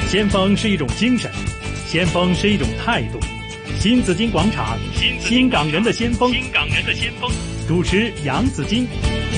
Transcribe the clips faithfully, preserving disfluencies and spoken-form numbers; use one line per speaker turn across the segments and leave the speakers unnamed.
先锋是一种精神，先锋是一种态度。新紫金广场，新港人的先锋，新港人的先锋。主持杨紫金。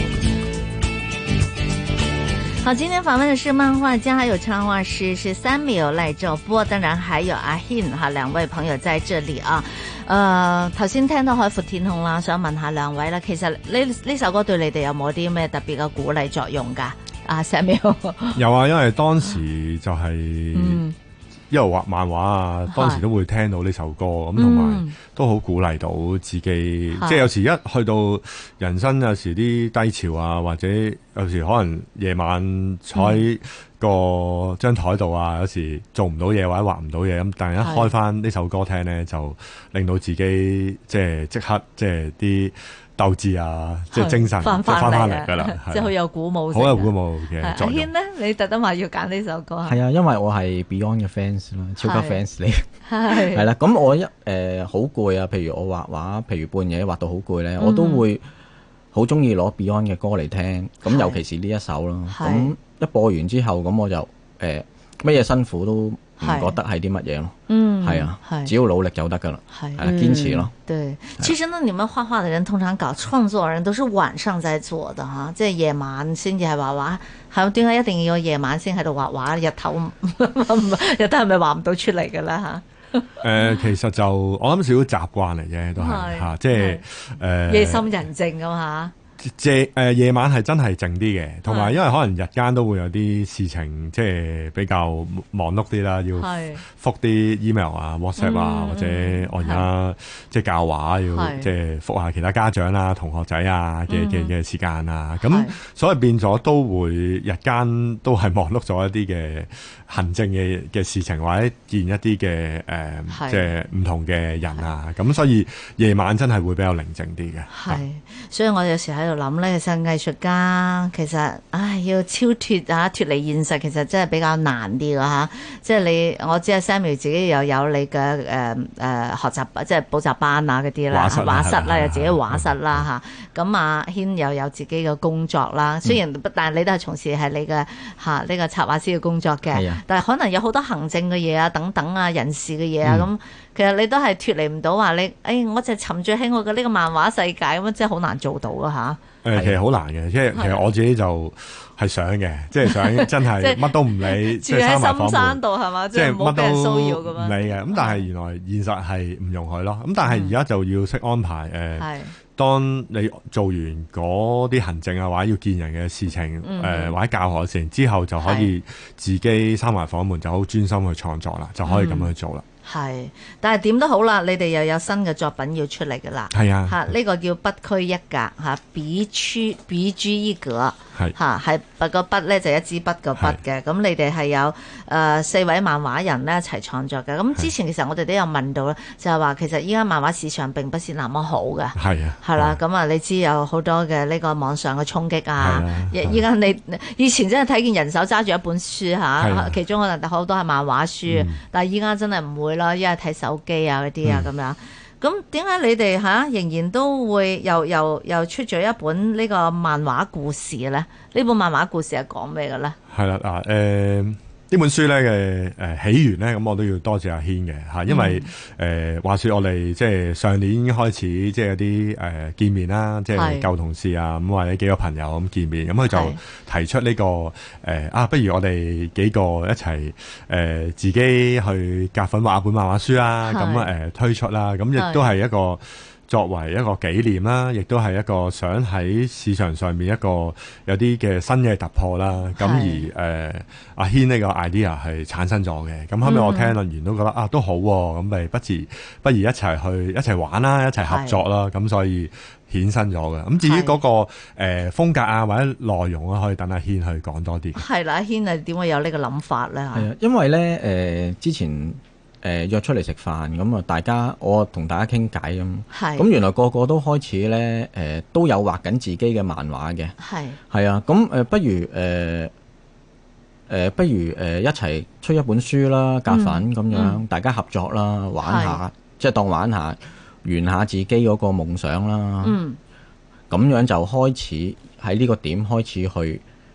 好，今天访问的是漫画家还有插画师是Samuel賴兆波，當然還有阿軒哈兩位朋友在這裡啊。誒頭先聽到海闊天空啦，想問下兩位啦，其實呢呢首歌對你哋有冇啲咩特別嘅鼓勵作用㗎？啊 Samuel
有啊，因為當時就係、是嗯、一路畫漫畫啊，當時都會聽到呢首歌咁，同埋都好鼓勵到自己。即係有時一去到人生有時啲低潮啊，或者有時可能夜晚坐喺個張台度啊，有時做唔到嘢或者畫唔到嘢咁，但係一開翻呢首歌聽咧，就令到自己即係即刻即係啲鬥志啊，即係精神翻翻嚟㗎啦，
即係好有鼓舞，
好有鼓舞嘅作用。
阿軒咧，你特登話要揀呢首歌啊？
係啊，因為我係 Beyond 嘅 fans 啦，超級 fans 嚟。係係啦，咁我一誒好攰啊，譬如我畫畫，譬如半夜畫到好攰咧，我都會好中意攞 Beyond 嘅歌嚟聽。咁尤其是呢一首咯，咁一播完之後，咁我就誒乜嘢辛苦都唔覺得係啲乜嘢咯。嗯，係啊，只要努力就得噶啦，係啦，堅持咯。
對，其實呢，你們畫畫的人通常搞創作人都是晚上在做的哈，即係夜晚先至係畫畫。係點解一定要夜晚先喺度畫畫？日頭日頭係咪畫唔到出嚟嘅啦嚇？
誒，其實就我諗少少習慣嚟嘅，都係嚇，即係誒
夜深人靜咁嚇。
夜誒夜晚係真係靜啲嘅，同埋因為可能日間都會有啲事情，即係比較忙碌啲啦，要覆啲 email 啊、WhatsApp 啊，或者我而家即係教畫要即係覆下其他家長啊、同學仔啊嘅嘅嘅時間啊，咁所以變咗都會日間都係忙碌咗一啲嘅行政嘅嘅事情，或者見一啲嘅誒即係唔同嘅人啊，咁所以夜晚真係會比較寧靜啲嘅。
係，所以我有時喺度諗咧，其實藝術家其實唉要超脫啊，脫離現實，其實真係比較難啲㗎嚇。即係你，我知阿 Samuel 自己又有你嘅誒誒學習，即係補習班啊嗰啲啦，畫室啦，有自己畫室啦嚇。咁阿軒又有自己嘅工作啦，雖然但係你都係從事係你嘅嚇呢個插畫師嘅工作嘅，但係可能有好多行政嘅嘢啊、等等啊、人事嘅嘢啊咁。嗯其實你都係脫離唔到話你，誒、哎，我就沉醉喺我嘅呢個漫畫世界咁，真係好難做到㗎吓。誒、
呃，其實好難嘅，即係其實我自己就係想嘅，即係想真係乜都唔理，
住喺深山度係嘛，即係乜都唔
理嘅。咁但係原來現實係唔容許咯。咁但係而家就要識安排誒。嗯呃當你做完嗰啲行政啊，或者要見人嘅事情，誒、嗯呃、或者教學嘅事情之後，就可以自己閂埋房門，就好專心去創作啦，就可以咁樣去做啦。
係，但係點都好啦，你哋又有新嘅作品要出嚟㗎啦。係啊，嚇呢、這個叫筆區一格嚇，筆區筆居一格。係嚇，係筆個筆咧就一支筆個筆嘅。咁你哋係有誒、呃、四位漫畫人咧一齊創作嘅。咁之前其實我哋都有問到啦，就係話其實依家漫畫市場並不是那麼好嘅。係啊，係啦。咁啊，你知有好多嘅呢個網上嘅衝擊啊。依家你以前真係睇見人手揸住一本書嚇，其中可能好多係漫畫書，嗯、但係依家真係唔會啦，依家睇手機啊嗰啲啊咁樣。咁點解你哋吓仍然都會又又又出咗一本呢個漫畫故事咧？呢本漫畫故事係講咩嘅咧？係啦，嗱，誒。呢本書咧嘅誒起源咧，咁我都要多謝阿軒嘅嚇，因為誒、嗯呃、話說我哋即係上年已經開始即係有啲誒、呃、見面啦，即係舊同事啊，咁或者幾個朋友咁見面，咁佢就提出呢、這個誒、呃、啊，不如我哋幾個一齊誒、呃、自己去夾份畫一本漫畫書啦，咁誒、呃、推出啦，咁亦都係一個作為一個紀念啦，亦都係一個想喺市場上面一個有啲嘅新嘅突破啦。咁而誒、呃、阿軒呢個 idea 係產生咗嘅。咁後尾我聽完都覺得、嗯、啊都好喎、啊，咁咪不如不如一齊去一齊玩啦，一齊合作啦。咁所以衍生咗嘅。咁至於嗰、那個誒、呃、風格啊或者內容啊，可以等阿軒去講多啲。係啦，阿軒啊點會有呢個諗法咧？係啊，
因為咧誒、呃、之前。誒、呃、約出嚟食飯咁啊，大家我同大家傾偈咁，咁原來個個都開始咧誒、呃、都有畫緊自己嘅漫畫嘅，係係啊，咁誒、呃、不如誒誒、呃呃、不如誒、呃、一齊出一本書啦，夾份咁樣、嗯，大家合作啦，玩下，即係當玩下，圓下自己嗰個夢想啦，嗯，咁樣就開始喺呢個點開始去。誒、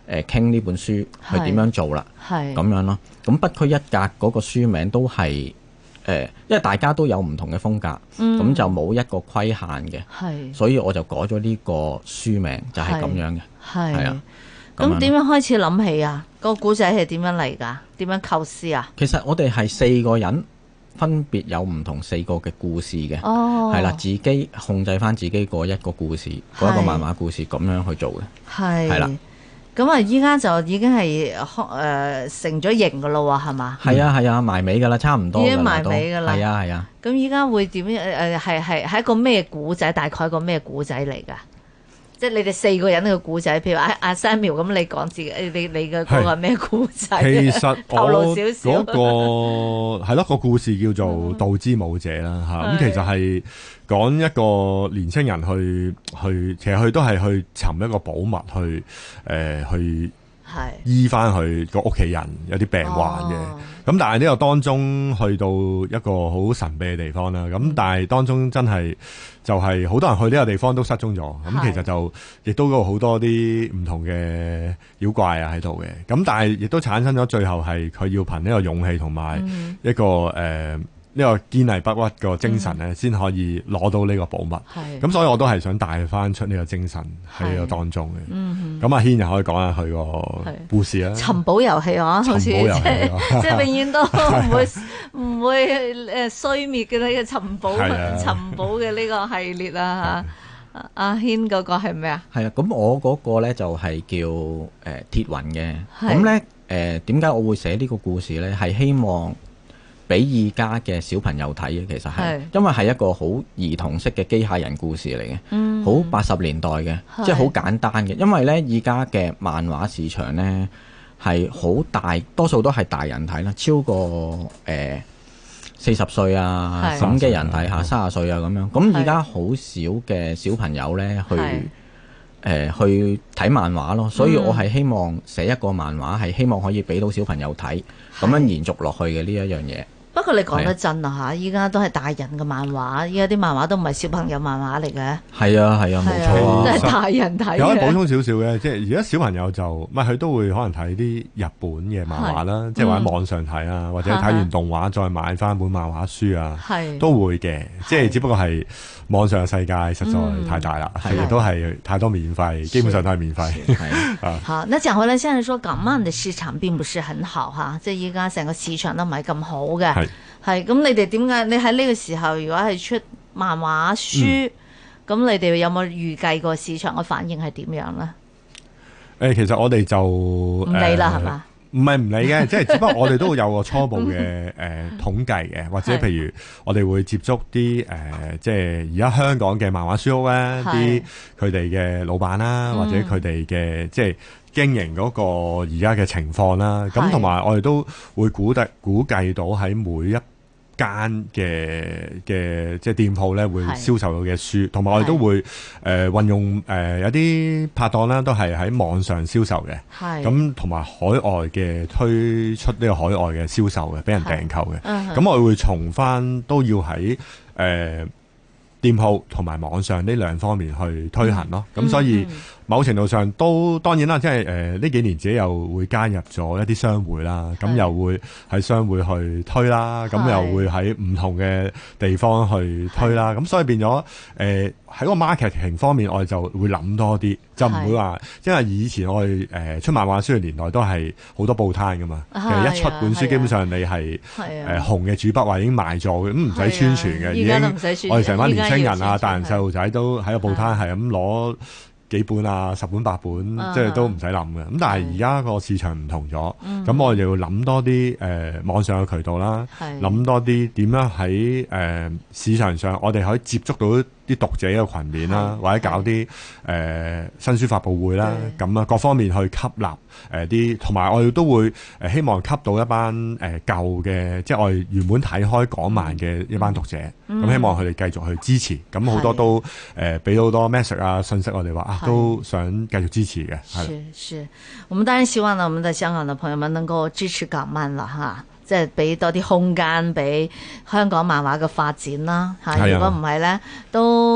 誒傾呢本書去點樣做啦，咁樣咯。咁不拘一格嗰個書名都係誒、呃，因為大家都有唔同嘅風格，咁、嗯、就冇一個規限嘅，所以我就改咗呢個書名就係、是、咁樣嘅，係啊。
咁點樣開始諗起啊？個古仔係點樣嚟㗎？點樣構思啊？
其實我哋係四個人，分別有唔同四個嘅故事嘅，係、哦、啦，自己控制翻自己嗰一個故事，嗰一個漫畫故事咁樣去做嘅，係係啦。
咁啊，依家就已經係誒、呃、成咗型㗎咯喎，係嘛？
係啊係啊，埋尾㗎啦，差唔多。已經埋
尾㗎啦。
係啊係啊。
咁依家會點樣？誒係係係一個咩古仔？大概一個咩古仔嚟㗎？即係你哋四個人嘅故仔，譬如阿阿 Samuel 咁，你講自己，你你嘅嗰個咩故仔？
其實
透露少少。
嗰、那個係咯，個故事叫做《道之武者》啦嚇。咁、嗯、其實係講一個年青人去去，其實佢都係去尋一個寶物去誒、呃、去醫翻佢個屋企人有啲病患嘅。咁、哦、但係呢個當中去到一個好神秘嘅地方啦。咁、嗯、但係當中真係就係好多人去呢個地方都失蹤咗。咁其實就亦都有好多啲唔同嘅妖怪啊喺度嘅。咁但係亦都產生咗最後係佢要憑呢個勇氣同埋一個誒。嗯呃呢、這個堅毅不屈個精神咧，先、嗯、可以攞到呢個寶物。咁所以我都係想帶翻出呢個精神喺呢個當中嘅。咁、嗯、阿軒又可以講下佢個故事啦。
尋寶遊戲啊，好似即係即係永遠都唔會唔會誒衰滅嘅呢個尋寶尋寶嘅呢個系列啊嚇。阿軒嗰個係咩啊？係啊，
咁我嗰個咧就係叫誒、呃、鐵雲嘅。咁咧誒點解我會寫呢個故事咧？係希望俾而家嘅小朋友睇嘅，其實係因為係一個好兒童式嘅機械人故事嚟嘅，好八十年代嘅，即係好簡單嘅。因為呢，而家嘅漫畫市場呢係好大，多數都係大人睇啦，超過誒四十歲啊咁嘅人睇下，三十歲啊咁樣。咁而家好少嘅小朋友呢去誒、呃、去睇漫畫咯，所以我係希望寫一個漫畫，係希望可以俾到小朋友睇，咁樣延續落去嘅呢一樣嘢。
不過你講得真啊嚇！依家都係大人嘅漫畫，依家啲漫畫都唔係小朋友漫畫嚟嘅。
係啊係啊，冇錯啊，
都係大人睇嘅。
有可以補充少少嘅，即係而家小朋友就唔係佢都會可能睇啲日本嘅漫畫啦，即係或者網上睇啊，或者睇完動畫再買翻本漫畫書啊，都會嘅。即係只不過係網上嘅世界實在太大啦，亦都係太多免費，基本上都係免費。
啊，好，那講回來，現在說港漫嘅市場並不是很好嚇，即係依家成個市場都唔係咁好嘅。係咁，你哋點解？你喺呢個時候，如果係出漫畫書，咁、嗯、你哋有冇預計過市場嘅反應係點樣咧？誒、
欸，其實我哋就唔
理啦，係、呃、嘛？
唔係唔理嘅，即係只不過我哋都會有個初步嘅誒、呃、統計嘅，或者譬如我哋會接觸啲誒、呃，即係而家香港嘅漫畫書屋咧，啲佢哋嘅老闆啦，或者佢哋嘅即係經營嗰個而家嘅情況啦。咁同埋我哋都會估計估計到喺每一間嘅嘅即係店鋪咧，會銷售到嘅書，同埋我哋都會誒、呃、運用誒、呃、有啲拍檔啦，都係喺網上銷售嘅。係咁，同埋海外嘅推出呢個海外嘅銷售嘅，俾人訂購嘅。咁、嗯、我哋會從翻都要喺誒、呃、店鋪同埋網上呢兩方面去推行咯。咁、嗯、所以。嗯某程度上都當然啦，即係誒呢幾年自己又會加入咗一啲商會啦，咁又會喺商會去推啦，咁又會喺唔同嘅地方去推啦，咁所以變咗誒喺個 marketing 方面，我哋就會諗多啲，就唔會話，因為以前我哋誒、呃、出漫畫書嘅年代都係好多報攤噶嘛，其實一出本書基本上你係誒、呃、紅嘅主筆話已經賣咗嘅，咁唔使宣傳嘅，已經我哋成班年青人啊、大人細路仔都喺個報攤係咁攞幾本啊，十本八本，即係都唔使諗嘅。咁但係而家個市場唔同咗，咁、嗯、我哋就要諗多啲誒、呃、網上嘅渠道啦，諗多啲點樣喺誒、呃、市場上，我哋可以接觸到啲讀者嘅群面啦，或者搞啲誒、呃、新書發佈會啦，咁啊各方面去吸納誒啲，同、呃、埋我哋都會誒希望吸到一班誒、呃、舊嘅，即係我哋原本睇開港漫嘅一班讀者，咁、嗯、希望佢哋繼續去支持，咁好多都誒俾到好多 message 啊信息我哋話啊都想繼續支持嘅。係是是，我們當然希望呢，我們的香港的朋友們能夠支持港漫啦，哈。即係俾多啲空間俾香港漫畫嘅發展啦嚇，如果唔係咧，都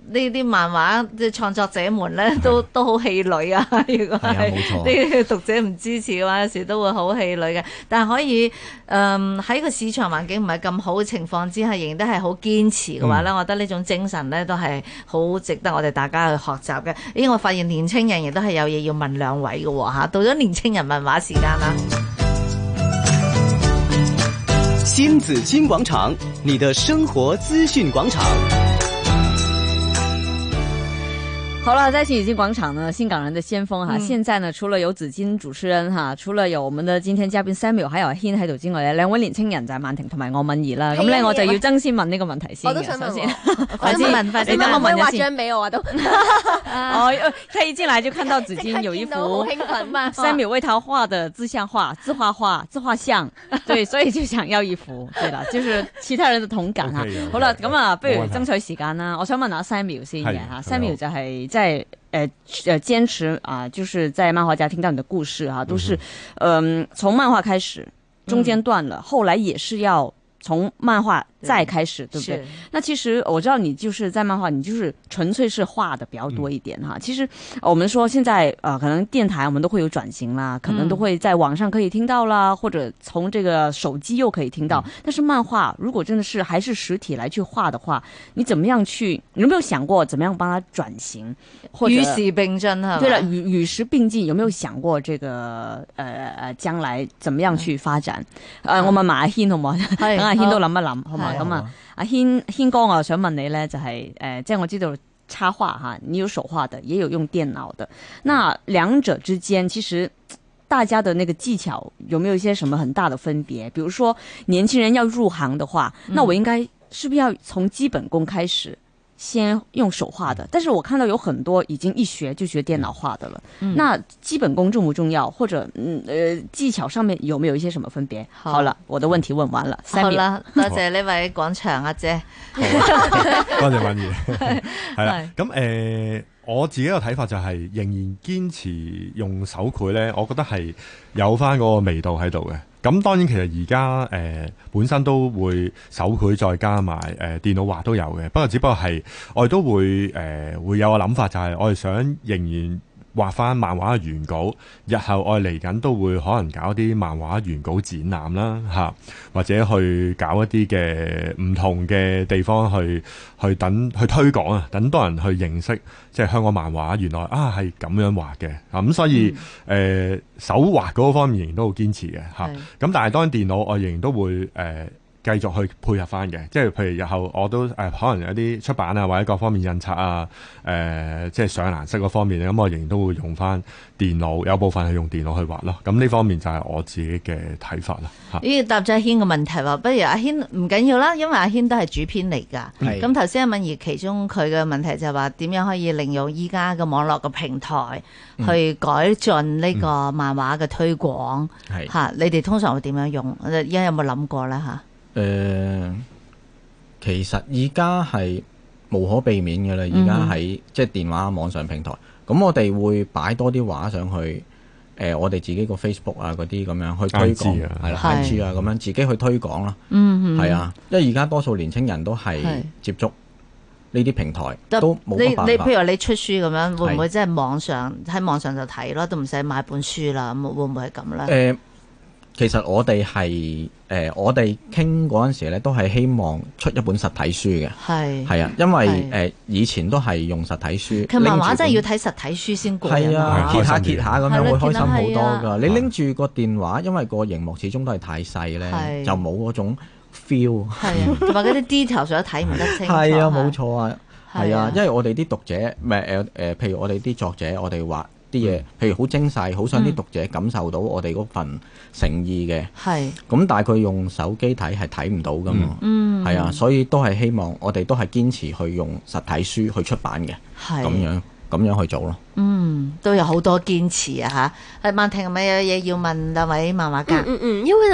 呢啲漫畫嘅創作者們咧，都都好氣餒啊！如果係呢啲讀者唔支持嘅話，有時都會好氣餒嘅。但係可以誒喺個市場環境唔係咁好嘅情況之下，仍然都係好堅持嘅話咧，嗯、我覺得呢種精神咧都係好值得我哋大家去學習嘅。咦，我發現年青人亦都係有嘢要問兩位嘅喎嚇，到咗年青人問話時間啦！
新紫荊廣場，你的生活資訊廣場。
好了，在新紫荊廣場呢，新港人的先鋒哈，嗯、現在呢，除了有紫荊主持人哈，除了有我們的今天嘉賓 Samuel，還有阿軒喺度之外咧，兩位年青人就係曼婷同埋我敏儀啦。咁咧我就要爭先問呢個問題先。我都想問先，快啲問，快啲問，我畫張俾我啊都。哦，他一進來就看到紫荊有一幅 Samuel 為他畫的自像畫、自畫畫、自畫像，對，所以就想要一幅。對啦，就是其他人的同感哈。好啦，咁啊，不如爭取時間啦。我想問下 Samuel 先嘅吓 ，Samuel 就係。在呃呃堅持啊、呃，就是在漫畫家聽到你的故事啊，都是嗯、呃、從漫畫開始，中間斷了，嗯、後來也是要從漫畫再開始，對，對不對？那其實我知道你就是在漫畫，你就是純粹是畫的比較多一點哈。嗯、其實我們說現在呃可能電台我們都會有轉型啦，可能都會在網上可以聽到啦，或者從這個手機又可以聽到。嗯、但是漫畫如果真的是還是實體來去畫的話，你怎麼樣去？你有沒有想過怎麼樣幫它轉型？或者
與時並進哈？
對了，與與時並進，有沒有想過這個呃呃將來怎麼樣去發展？嗯、呃，我問埋阿軒好唔好？等阿軒都諗一諗，好嘛？咁啊，阿軒軒哥，我想問你咧，就係、是、誒、呃，即係我知道插畫哈，你有手畫的，也有用電腦的，那兩者之間，其實大家的那個技巧有沒有一些什麼很大的分別？比如說年輕人要入行的話，那我應該是不是要從基本功開始？先用手畫的，但是我看到有很多已經一學就學電腦畫的了。嗯、那基本功重不重要？或者嗯呃技巧上面有沒有一些什麼分別？好，好了，我的問題問完了。
好啦，多謝呢位廣場阿姐。
多謝敏儀。係啦，咁誒、呃，我自己嘅睇法就係仍然堅持用手繪咧，我覺得係有翻嗰個味道喺度嘅。咁當然其實而家誒本身都會手繪再加埋誒、呃、電腦畫都有嘅，不過只不過係我哋都會誒、呃、會有個諗法，就係我哋想仍然畫翻漫畫嘅原稿，日後我哋嚟緊都會可能搞啲漫畫原稿展覽啦，嚇，或者去搞一啲嘅唔同嘅地方去去等去推廣啊，等多人去認識即係香港漫畫原來啊係咁樣畫嘅啊，咁所以誒、嗯呃、手畫嗰方面仍然都好堅持嘅嚇，咁是但係當然電腦我仍然都會誒。呃繼續去配合翻嘅，即係譬如日後我都誒、呃、可能有啲出版啊，或者各方面印刷啊，誒、呃、即係上顏色嗰方面咧，咁我仍然都會用翻電腦，有部分係用電腦去畫咯。咁呢方面就係我自己嘅睇法啦。嚇，
呢個答咗阿軒嘅問題喎，不如阿軒唔緊要啦，因為阿軒都係主編嚟㗎。咁頭先阿敏儀其中佢嘅問題就係話點樣可以利用依家嘅網絡嘅平台去改進呢個漫畫嘅推廣。係嚇、嗯，你哋通常會點樣用？而家有冇諗過咧嚇？誒、
呃，其實而家係無可避免嘅啦。而家喺即係電話網上平台，咁我哋會擺多啲畫上去。誒、呃，我哋自己個 Facebook 啊，嗰啲咁樣去推廣，係啦，I G 啊，咁樣自己去推廣啦。嗯，係啊，因為而家多數年青人都係接觸呢啲平台，是都冇乜辦法。你你譬
如你出書咁樣，會唔會即係網上喺網上就睇咯，都唔使買本書啦？咁會唔會係咁咧？誒、呃。
其實我哋係誒，我哋傾嗰陣時咧，都係希望出一本實體書嘅。係係啊，因為誒是、呃、以前都係用實體書。其實
漫畫真係要睇實體書先過癮。係啊，
揭下揭下咁樣會開心好多㗎。你拎住個電話，因為個熒幕始終都係太細咧，是就冇嗰種 feel。係啊，
同埋嗰啲 detail 上都睇唔得清楚。
係啊，冇錯啊，係啊，因為我哋啲讀者唔係誒誒，譬如我哋啲作者，我哋話啲嘢，譬如好精細，好想啲讀者感受到我哋嗰份誠意嘅。係。咁但係佢用手機睇係睇唔到㗎嘛。嗯。係啊，所以都係希望我哋都係堅持去用實體書去出版嘅。係。咁樣咁樣去做咯。
嗯，都有好多堅持啊嚇。係曼婷係咪有嘢要問兩位漫畫家？
嗯嗯，因為呢。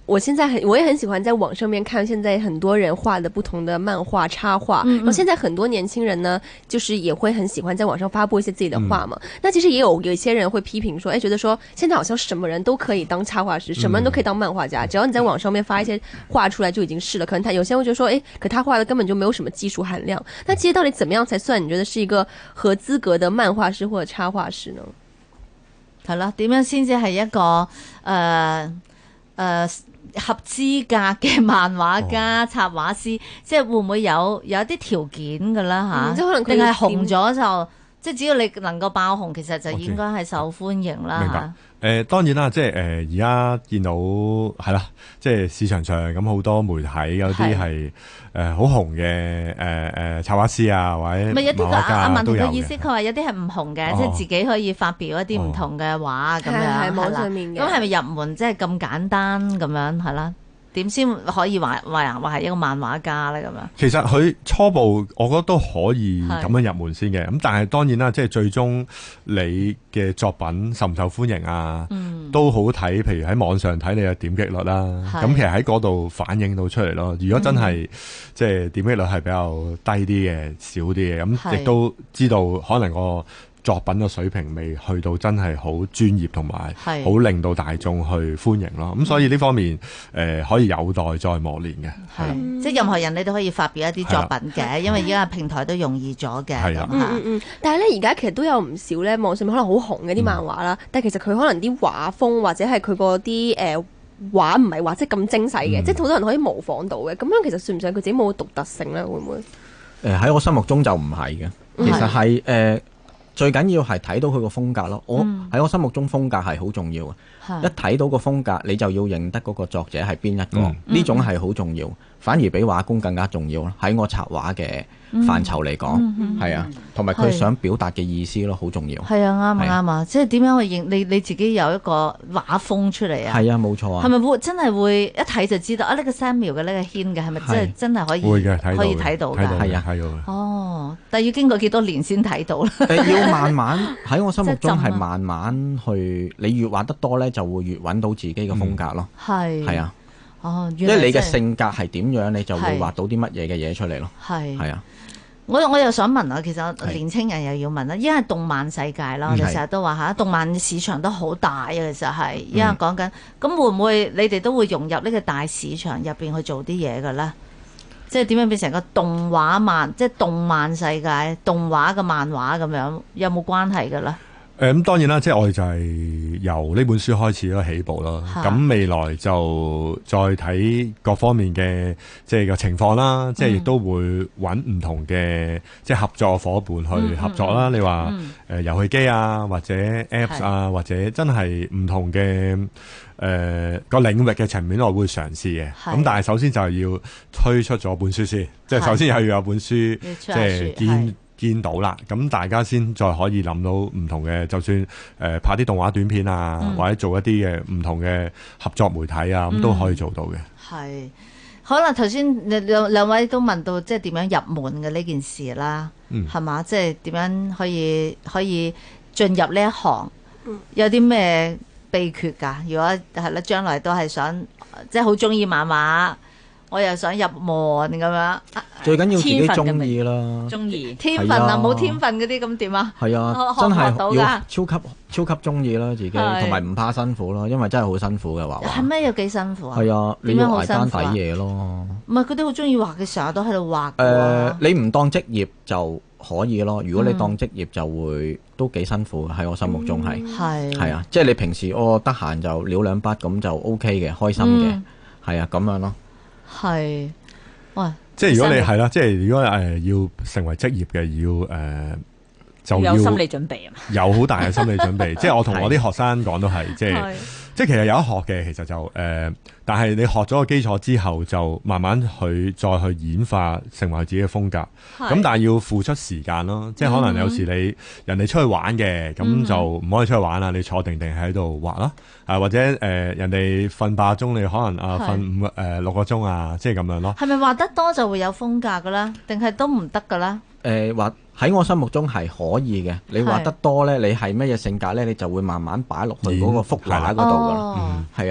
我現在很我也很喜歡在網上面看現在很多人畫的不同的漫畫插畫，嗯嗯，然後現在很多年輕人呢，就是也會很喜歡在網上發布一些自己的畫嘛。嗯、那其實也有有一些人會批評說，誒，覺得說現在好像什麼人都可以當插畫師，什麼人都可以當漫畫家，嗯、只要你在網上面發一些畫出來就已經是了。可能他有些人會覺得說，誒，可他畫的根本就沒有什麼技術含量。那其實到底怎麼樣才算你覺得是一個合資格的漫畫師或者插畫師呢？
係啦，點樣先至係一個誒誒、呃呃、合資格嘅漫畫家、哦、插畫師？即係會唔會有有一啲條件㗎啦嚇？即係可能定係紅咗就即係只要你能夠爆紅，其實就應該係受歡迎啦嚇。明白。
誒、呃、當然啦，即係誒而家見到係啦，即係市場上咁好多媒體有啲係誒好紅嘅誒誒插畫師啊，或者
唔係有啲個阿文嘅意思，佢話
有
啲係唔紅嘅，即係自己可以發表一啲唔同嘅畫咁、哦、樣，
係網上面嘅。
咁係咪入門即係咁簡單咁樣係啦？點先可以話話話係一個漫畫家咧咁樣？其實
佢初步我覺得都可以咁樣入門先嘅，咁但係當然啦，即係最終你嘅作品受唔受歡迎啊，嗯、都好睇。譬如喺網上睇你嘅點擊率啦，咁其實喺嗰度反映到出嚟咯。如果真係、嗯、即係點擊率係比較低啲嘅、少啲嘅，咁亦都知道可能個作品嘅水平未去到真係好專業同埋好令到大眾去歡迎咯，咁所以呢方面誒、呃、可以有待再磨練嘅。係、
嗯、即係任何人你都可以發表一啲作品嘅，因為而家平台都容易咗嘅。係啊，
嗯嗯嗯。但係咧而家其實都有唔少咧網上面可能好紅嘅啲漫畫啦，嗯、但係其實佢可能啲畫風或者係佢嗰啲誒畫唔係話即係咁精細嘅，嗯、即係好多人可以模仿到嘅。咁樣其實算唔算佢自己冇獨特性咧？會唔會？誒喺、
呃、我心目中就唔係嘅，其實係誒。呃最緊要係睇到佢個風格咯，我喺、嗯、我心目中風格係好重要嘅。一睇到個風格，你就要認得嗰個作者係邊一個，呢、嗯、種係好重要，反而比畫工更加重要咯。喺我插畫嘅範疇嚟講，係、嗯嗯、啊，同埋佢想表達嘅意思咯，好重要。
係啊，啱啊啱啊，即係點樣去認你你自己有一個畫風出嚟啊？
係啊，冇錯啊。
係咪會真係會一睇就知道啊？呢、呢個 Samuel 嘅呢個軒嘅係咪真係真係可以
會嘅，
可以睇到㗎？
係啊，
係啊。
哦，但係要經過幾多年先睇到咧？
要慢慢喺我心目中係慢慢去，你越畫得多咧，就會越揾到自己嘅風格咯。係係、嗯、啊。哦，因為你嘅性格係點樣，你就會畫到啲乜嘢嘅嘢出嚟咯。係係啊。
我我又想問啊，其實年青人又要問啦，因為動漫世界啦，我哋成日都話嚇，動漫市場都好大啊，其實係，因為講緊，咁會唔會你哋都會融入呢個大市場入邊去做啲嘢嘅咧？即係點樣變成個動畫漫，即係動漫世界動畫嘅漫畫咁樣，有冇關係嘅咧？
誒咁、嗯、當然啦，即係我哋就係由呢本書開始咯，起步咯。咁、啊、未來就再睇各方面嘅即係個情況啦，嗯、即係亦都會揾唔同嘅即係合作伙伴去合作啦。嗯嗯、你話誒遊戲機啊，或者 Apps 啊，是或者真係唔同嘅誒、呃、個領域嘅層面，我會嘗試嘅。咁是但係首先就係要推出咗本書先，是即係首先係要有本書，即係見。見到啦，咁大家先再可以諗到唔同嘅，就算誒、呃、拍啲動畫短片啊，嗯、或者做一啲嘅唔同嘅合作媒體啊，咁、嗯、都可以做到嘅。係，
可能頭先兩兩位都問到，即係點樣入門嘅呢件事啦，係嘛、嗯？即係點樣可以可以進入呢一行？有啲咩秘訣㗎？如果係啦，將來都係想即係好中意漫畫。我又想入門咁樣，
最緊要自己中意啦。
中意天分啊，冇天分嗰啲咁點啊？
係啊，真係要超級超級中意啦自己，同埋唔怕辛苦咯，因為真係好辛苦嘅畫畫。係咩？有幾辛苦啊？係啊，你要捱更抵夜咯。唔係，佢哋好中意畫嘅時候都喺度畫。誒，你唔當職業就可以咯。如果你當職業就會都幾辛苦嘅，喺我心目中係。係係啊，即係你平時我得閒就潦兩筆咁就 OK 嘅，開心嘅，係啊咁樣咯。
係，哇！
即係如果你係啦，即係如果誒、呃、要成為職業嘅，要誒、呃、就要
有心理準備啊，
有好大嘅心理準備。即係我同我啲學生講都係，即係即係其實有得學嘅，其實就誒、呃，但係你學咗個基礎之後，就慢慢去再去演化，成為自己嘅風格。咁是但係要付出時間咯，即係可能有時你、嗯、人哋出去玩嘅，咁就唔可以出去玩啦，你坐定定喺度畫啦，啊或者誒、呃、人哋瞓八個鐘，你可能啊瞓五誒六個鐘啊，即係咁樣咯。
係咪畫得多就會有風格噶啦？定係都唔得噶啦？
誒畫喺我心目中係可以嘅，你畫得多咧，你係乜嘢性格咧，你就會慢慢擺落去嗰個幅畫嗰度噶啦。係啊。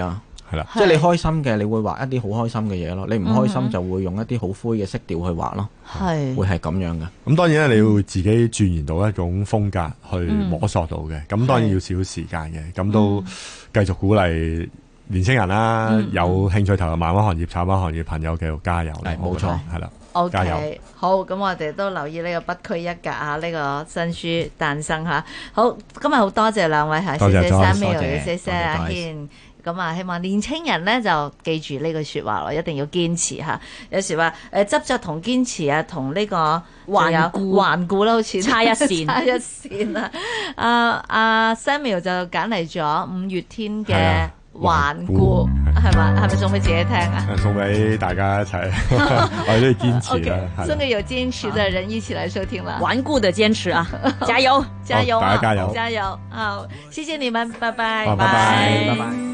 係啦，
即係你開心嘅，你會畫一啲好開心嘅嘢咯；你唔開心就會用一啲好灰嘅色調去畫咯。係會係咁樣嘅。
咁當然咧，你要自己鑽研到一種風格去摸索到嘅，咁、嗯、當然要少少時間嘅。咁都繼續鼓勵年輕人啦、嗯，有興趣投入漫畫行業、插畫行業朋友繼續加油咧。
冇錯，
係啦。
O、okay, K， 好，咁我哋都留意呢個不拘一格啊，呢、這個新書誕生吓。好，今日好多謝兩位吓，謝謝 Samuel，謝謝阿軒。咁啊，希望年青人咧就記住呢句說話咯，一定要堅持吓。有時話誒執着同堅持啊，同呢個頑固頑固啦，好似
差一線，
差一線啊。阿阿 Samuel 就揀嚟咗五月天嘅頑固，係嘛？係咪送俾自己聽啊？
送俾大家一齊，我哋都要堅持啦。
Okay, 送給有堅持的人一起來收聽啦。
頑固的堅持啊，加油，
加油，
大家加油，
加油！好，謝謝你們，拜拜，
拜拜，拜拜。